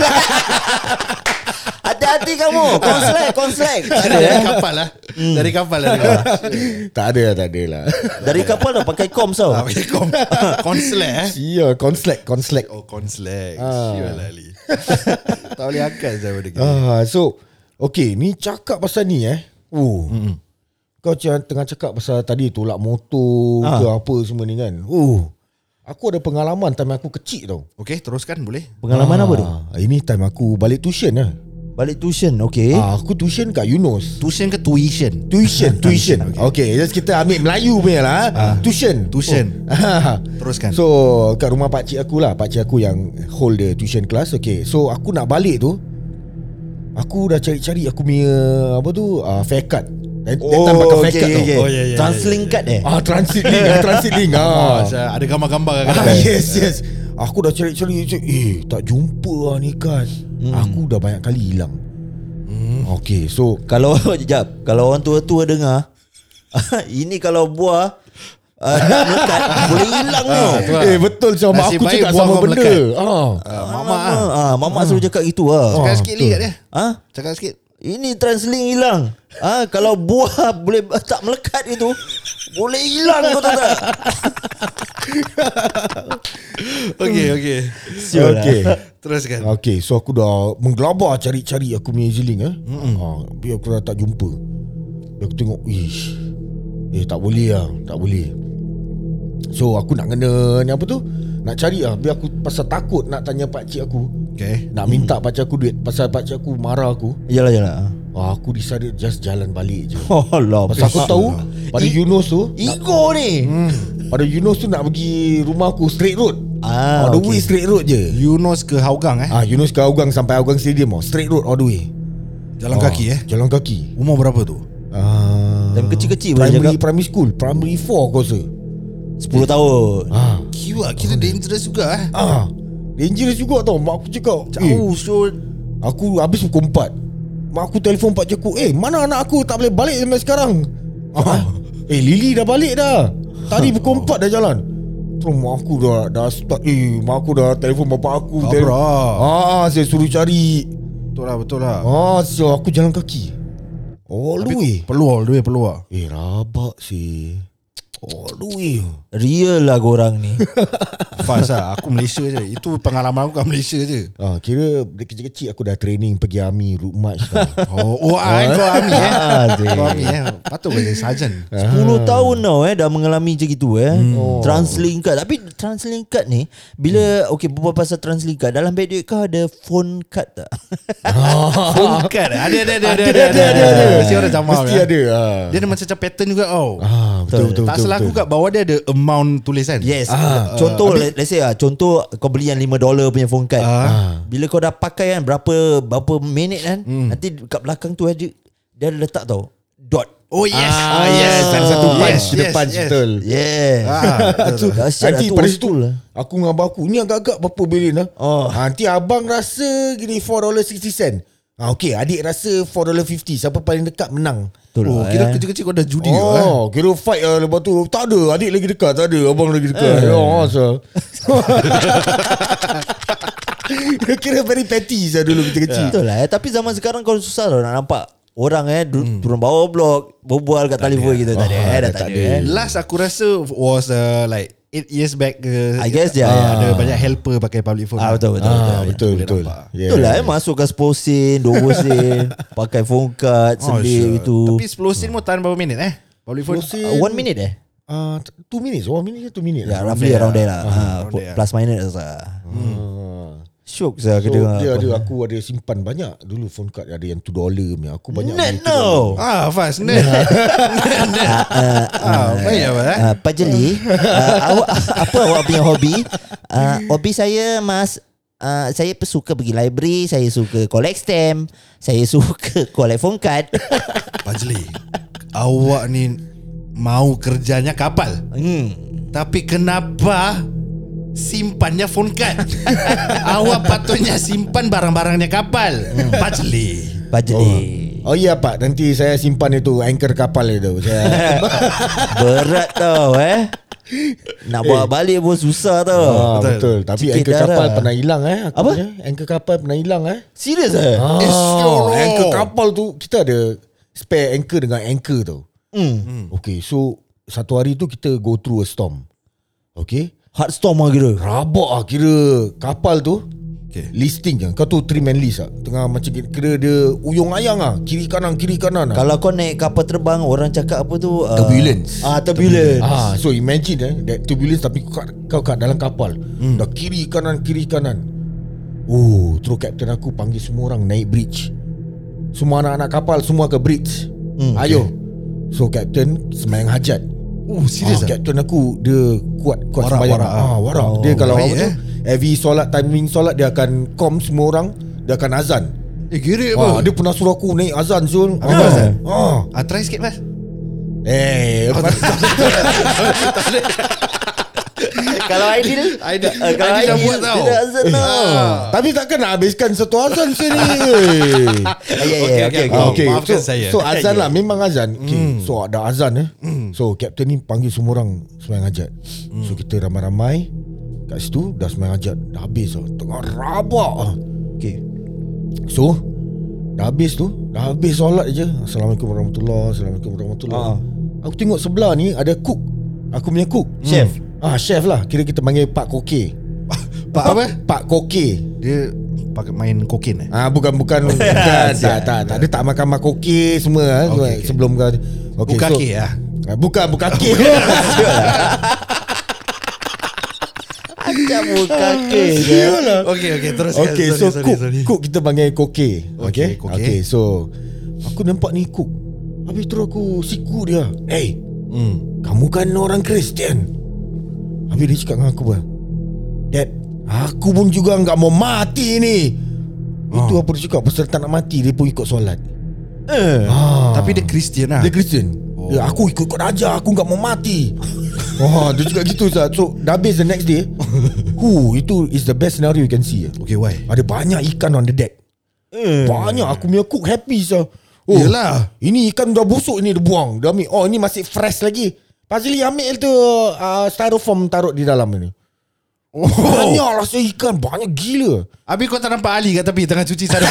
Hati-hati kamu. Konslek, konslek. Tak ada Dari eh. kapal lah. Dari kapal lah dengar. Tak ada lah, tak ada lah. Dari kapal tau pakai kom tau. Ah, pakai kom- Konslek eh. Sia, konslek, konslek. Oh, konslek. Ah. Sial lah Ali. Tak boleh akal saya benda gini. Ah, so, okay, ni cakap pasal ni eh. Oh. Kau tengah cakap pasal tadi tolak motor Ah. ke apa semua ni kan. Oh, aku ada pengalaman time aku kecil tau. Okay, teruskan boleh. Pengalaman apa tu? Ah, Ini time aku balik tuition lah. Balik tuition, okay. Ah, aku tuition kat Eunos. Tuition ke tuition? Tuition, tuition. Okay, just kita ambil Melayu punya lah. Ah. Tuition. Tuition. Oh. Teruskan. So kat rumah pakcik aku lah, pakcik aku yang hold the tuition class. Okay, so aku nak balik tu, aku dah cari-cari aku punya apa tu, uh, fare card. That, that time pakai fare card tau. Oh, ya, ya, Translink card eh. Ah, transit link, ah, transit link. Oh, Ah. ada gambar-gambar kan? Ah, yes, yes. Aku dah cari-cari, eh tak jumpa lah ni kan. Hmm. Aku dah banyak kali hilang. Hmm. Okay, so Kalau jap, kalau orang tua-tua dengar, ini kalau buah uh, nak melekat boleh hilang tau. Betul. eh betul sama Nasib aku baik cakap buah sama kau benda. melekat. Ah. Uh, Mama Mama ah. ah, mama suruh cakap gitu ah. Cakap Ah, sikit lagi kat dia. Ah, Cakap sikit. ini translink hilang. Ah, kalau buah boleh tak melekat itu, boleh hilang kau tahu tak? Okay, okay. Sial lah. Okay. Teruskan. Okay, so aku dah menggelabar cari-cari aku punya Ezlink eh. Ha, biar aku dah tak jumpa. Biar aku tengok, ish. Eh tak boleh lah, tak boleh. So aku nak kena ni apa tu? Nak cari lah, biar aku pasal takut nak tanya pakcik aku. Okay. Nak minta pakcik aku duit pasal pakcik aku marah aku. Yalah yalah. Ah, aku decided just jalan balik je. Oh Allah. Pasal aku tahu pada I- Eunos tu, Ego ni. hmm, pada Eunos tu nak pergi rumah aku straight road. Ah, All the okay. way straight road je. Eunos ke Hougang eh? Ah, Eunos ke Hougang sampai Hougang Stadium oh, straight road all the way. Jalan Ah, kaki eh? Jalan kaki. Umur berapa tu? Ah, Time kecil-kecil boleh primary, cakap. primary school, primary four aku rasa. sepuluh tahun. Ah, Kira, kira dangerous juga eh? ah, dangerous juga tau. Mak aku cakap, eh, Jauh so. aku habis pukul empat. Mak aku telefon pakcik aku, eh mana anak aku tak boleh balik sampai sekarang. Ah, eh Lily dah balik dah. Tadi pukul empat dah jalan. Terus mak aku dah dah start, eh mak aku dah telefon bapak aku. Abra. Telefon. Ah, saya suruh cari. Betul lah, betul lah. Ah, so aku jalan kaki. All the way. Peluar, duit peluar. Eh rabak sih. All the way. Real lah korang ni. Fast lah. Aku Malaysia je. Itu pengalaman aku kat Malaysia je. Ah, kira dari kecil-kecil aku dah training pergi army route march tau. Oh, oh ah, kau army eh? Ah, Zee. Kau army eh? Patut kau jadi sarjan. sepuluh tahun tau eh dah mengalami macam gitu eh. Oh. Translink card. Tapi translink card ni bila okey berbual pasal translink card, dalam beg duit kau ada phone card tak? Phone card eh? Ada, ada, ada. Ada, ada, ada, ada. Mesti orang jamal Mesti kan? ada. Ah, Dia ada macam pattern juga tau. ah betul, betul, Tak betul, salah aku betul. kat bawah dia ada amount tulisan. Yes. Ah, contoh uh, let's say ah contoh kau beli yang lima dolar punya phone card. Ah. Bila kau dah pakai kan berapa berapa minit kan, Hmm. nanti kat belakang tu ada dia ada letak tau dot. Oh yes. Ah, yes, ada satu punch Yes, yes, yes, punch yes. betul. Yeah. Ah, betul. Dahsyat Nanti lah tu pada old situ school lah. aku dengan abang aku, ni agak-agak berapa bilin lah. Oh. Nanti abang rasa gini four dollars sixty cent. Ah, okay, adik rasa four dollars fifty. Siapa paling dekat menang. Betul Oh, lah, kira eh. kecil-kecil kau dah judi ke, eh? Oh, kira fight lah lepas tu. Tak ada, adik lagi dekat. Tak ada, abang lagi dekat. Eh. Oh, so. Kira very petty saya dulu kecil-kecil. Betul lah eh. Tapi zaman sekarang kau susah tau nak nampak orang eh du- turun bawah blok berbual kat telefon kita. Tak ada eh. Dah tak ada eh. Last aku rasa was uh, like eight years back ke. I guess, ya, Ah, ya. Ada banyak helper pakai public phone. Ah, betul, betul, Ah, betul. betul, boleh betul. nampak. Yeah. Betul lah eh. Masuk ke sepuluh sen, dua puluh sen, pakai phone card, Oh, sedih sure. gitu. Tapi sepuluh sen mau tahan berapa minit eh? Public phone. sepuluh sen. Uh, one minute eh? Ah, two minutes. One minute ke two minutes? Ya, lah. roughly there around there lah. lah. Ah, Ha, around there. plus minus lah. Ah. Syok saya So kena dia apa. ada, aku ada simpan banyak dulu phone card. Ada yang two dollar punya. Aku banyak Net beli two dollar. no. Ah, fast. Net. Ah, baik apa eh? Uh, Pak Jeli, uh, awak apa awak punya hobi? Uh, hobi saya mas, uh, saya suka pergi library, saya suka collect stamp, saya suka collect phone card. Fazli, awak ni mau kerjanya kapal. Hmm. Tapi kenapa simpannya phone card? Awak patutnya simpan barang-barangnya kapal. Fazli. Pak Jeli. Oh iya pak, nanti saya simpan itu anchor kapal itu. Saya Berat tau eh. Nak bawa balik pun susah tau. ah, betul. betul. Tapi Sikit anchor darah. kapal pernah hilang eh. Aku Apa? punya. Anchor kapal pernah hilang eh. Serius eh? Ah, Eh, sure. anchor kapal tu kita ada spare anchor dengan anchor tau. Hmm. Okay, so satu hari tu kita go through a storm. Okay, Hard storm lah kira. rabak lah kira kapal tu Okay. Listing je. Kau tu three man list lah. Tengah macam kira dia uyung ayang lah. Kiri kanan kiri kanan lah. Kalau kau naik kapal terbang, orang cakap apa tu? Uh, Turbulence. Ah, turbulence. Ah, so imagine eh, that turbulence tapi kau kat, kau kat dalam kapal. Hmm. Dah kiri kanan kiri kanan. Oh, terus kapten aku panggil semua orang naik bridge. Semua anak-anak kapal semua ke bridge. Hmm, Ayo. Okay. So kapten sembahyang hajat. Oh, serius ah, ah? kapten aku dia kuat kuat Warak, sembahyang. warak, ah, warak. Oh, dia kalau baik, apa tu? eh? Every solat timing solat dia akan com semua orang, dia akan azan. Eh, kira Ah, apa? dia pernah suruh aku naik azan Zul. Apa azan? Ah. Ah, try sikit mas. Eh, Kalau Aidil, Aidil- uh, kalau Aidil dah Aidil buat tau. dia dah azan tau. tapi takkan nak habiskan satu azan sini. Ah, ya, ya, Okey, okey, okey. okey. Oh, Okay, maafkan so, saya. so azan lah, memang azan. Okay, Hmm. so ada azan eh. So kapten ni panggil semua orang sembahyang hajat. Hmm. So kita ramai-ramai kat situ dah sembahyang hajat, dah habis lah. Tengah rabak ah. Okay. So dah habis tu, dah habis solat je. Assalamualaikum warahmatullahi, Assalamualaikum warahmatullahi. Ah. Aku tengok sebelah ni ada cook. Aku punya cook. Chef. Ah, chef lah. Kira kita panggil Pak Koke. Pak apa? Pak Koke. Dia pakai main kokain eh? Ah, bukan bukan bukan tak, tak tak dia tak makan makoke semua ah, Okay, okay. sebelum kau. Okay, Buka ke ah? ah, bukan bukan ke. Macam muka ke. Okey okey teruskan. Okay, sorry, so sorry, cook sorry. cook kita panggil Koke. Okay. Okay, Koke. Okay, so aku nampak ni cook. Habis terus aku siku dia. Hey, Hmm. kamu kan orang Kristian. Habis dia cakap dengan aku bah, Dad, aku pun juga enggak mau mati ni. Itu apa dia cakap, pasal tak nak mati dia pun ikut solat. Eh. Ah. Tapi dia Kristian lah. Dia Kristian. Oh. Dia, aku ikut-ikut aja, aku enggak mau mati. Oh, dia cakap gitu Zat. So dah habis the next day. Hu, itu is the best scenario you can see. Okay, why? Ada banyak ikan on the deck. Eh. Banyak. Aku punya cook happy sah. Oh, Yelah. ini ikan dah busuk ni, dia buang. Dia ambil. Oh, ini masih fresh lagi. Fazli ambil tu uh, styrofoam taruh di dalam ni. Oh. Banyak rasa ikan. Banyak gila. Habis kau tak nampak Ali kat tepi tengah cuci sarung.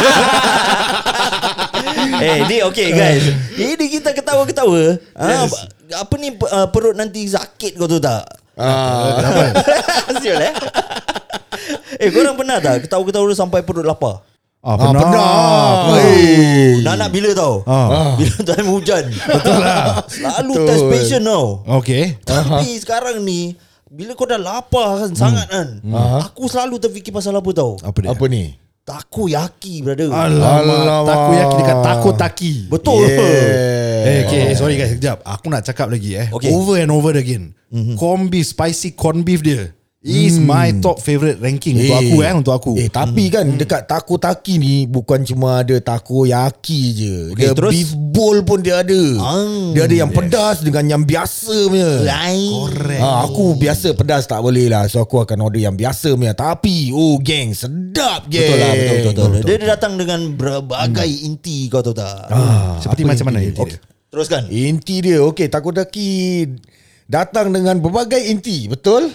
Eh, ni okay guys. Ini kita ketawa-ketawa. Ah, apa ni uh, perut nanti sakit kau tu tak? Ah. Kenapa? Sial eh. Eh, korang pernah tak ketawa-ketawa sampai perut lapar? Ah, Ah, pernah. pernah. Oh, nak nak bila tau? Ah. Bila time hujan. Betul lah. Selalu Betul. test patient tau. Okay. Tapi sekarang ni bila kau dah lapar kan, sangat kan, aku selalu terfikir pasal apa tau? Apa dia? Apa ni? Takoyaki, brother. Alamak, Alamak. takoyaki dekat takotaki. Betul. Yeah. Eh, okay, sorry guys, sekejap. Aku nak cakap lagi eh. Okay. Over and over again. Mm-hmm. Corn beef, spicy corn beef dia is my top favourite ranking untuk aku eh, untuk aku. Eh tapi kan dekat takoyaki ni bukan cuma ada takoyaki je. Okay, Dia terus? beef bowl pun dia ada. Ah, Dia ada yang pedas dengan yang biasa punya. Lain. Correct. Ha, aku biasa pedas tak boleh lah. So aku akan order yang biasa punya. Tapi oh geng, sedap geng. Betul lah, betul, betul, betul. Dia, dia datang dengan berbagai inti, kau tahu tak? Ah, Seperti apa macam inti mana dia? inti Okay. dia? Teruskan. Inti dia okey, takoyaki datang dengan berbagai inti, betul?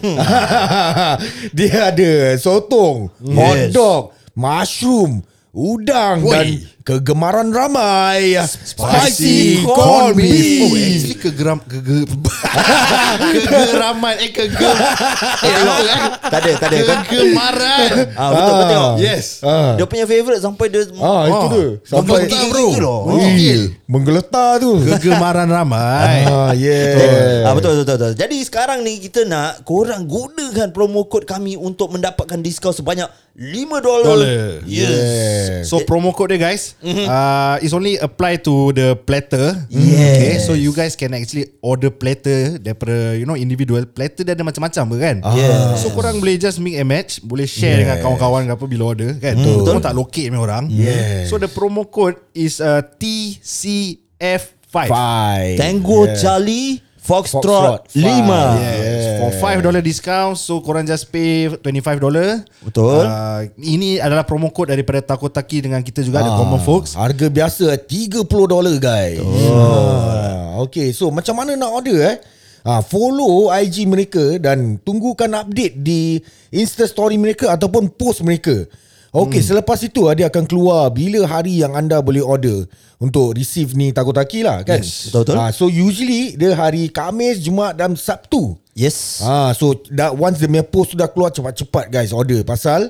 Dia ada sotong, Yes. hotdog, mushroom, udang Woi. dan kegemaran ramai Spicy corn corn beef. Oh, beef. actually kegeram kege kegeraman eh kegem eh apa eh? Tak ada, tak ada kan? Kegemaran. Ah, betul, betul tengok. Yes. Ah. Dia punya favourite sampai dia Ah, itu Oh. dia. Sampai Menggeletar, bro. Ih, menggeletar tu. Kegemaran ramai. Ah, yeah. Ah, betul, betul, betul. Jadi sekarang ni kita nak korang gunakan promo kod kami untuk mendapatkan diskaun sebanyak lima dolar. Dollar. Yeah. So promo code dia guys, uh, is only apply to the platter. Yes. Okay, so you guys can actually order platter daripada you know individual platter dia ada macam-macam kan. Yes. So korang boleh just mix and match, boleh share Yes. dengan kawan-kawan ke apa bila order kan. Betul. Betul tak locate punya orang. Yes. So the promo code is uh, T C F five. Five. Tango Yeah. Charlie Foxtrot Foxtrot, five. lima. Yes, for five dollar discount. So korang just pay twenty-five dollar. Betul. Uh, ini adalah promo code daripada Takotaki dengan kita juga ada Ah, Common Folks. Harga biasa tiga puluh dolar guys. Oh. Okay, so macam mana nak order eh? Ah, follow I G mereka dan tunggukan update di Insta story mereka ataupun post mereka. Okay, hmm. selepas itu dia akan keluar bila hari yang anda boleh order untuk receive ni Takotaki lah kan. Yes, betul-betul. Ah, so usually dia hari Khamis, Jumaat dan Sabtu. Yes. Ah, so that once dia punya post sudah keluar, cepat-cepat guys order pasal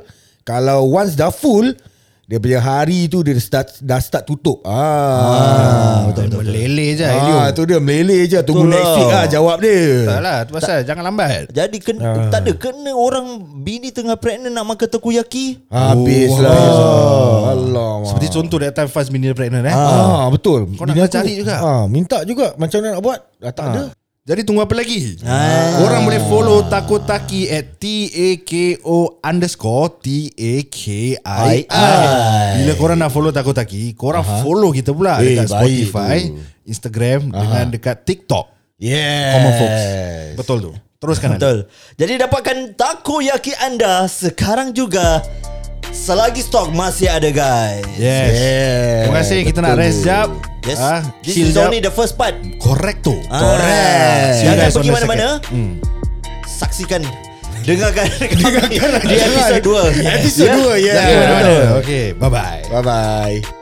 Kalau once dah full, dia punya hari tu dia start dah start tutup. Ah, ah betul betul. Meleleh je ah, tu dia meleleh je. Tunggu Betul next lah. week lah jawab dia. Tak lah, tu pasal jangan lambat. Jadi kena, tak ada kena orang bini tengah pregnant nak makan takoyaki. Habis Oh, lah. ah. Alamak. Seperti contoh that time Faz bini dia pregnant eh. Ah, betul. Kau nak Bini kena aku, cari juga. Ah, minta juga macam mana nak buat. Dah tak ada. Jadi tunggu apa lagi? Ah. Korang boleh follow Takotaki at T A K O underscore T A K I I. Bila korang nak follow Takotaki, korang follow kita pula Eh, dekat baik Spotify, tu. Instagram dengan dekat TikTok. Yes. Common Folks. Betul tu. Teruskan Ali. Betul. Jadi dapatkan takoyaki anda sekarang juga. Selagi stok masih ada guys. Yes. Yeah, Terima kasih. Kita nak betul rest tu. jap. Yes. Ah, This chill is jap. only the first part. Correct tu. Ah. Correct. See you Jangan guys on pergi the mana-mana. second. Hmm. Saksikan. Dengarkan kami di episod dua. Episode dua, yeah. Jangan Yeah. mana-mana. Okay. Bye-bye. Bye-bye.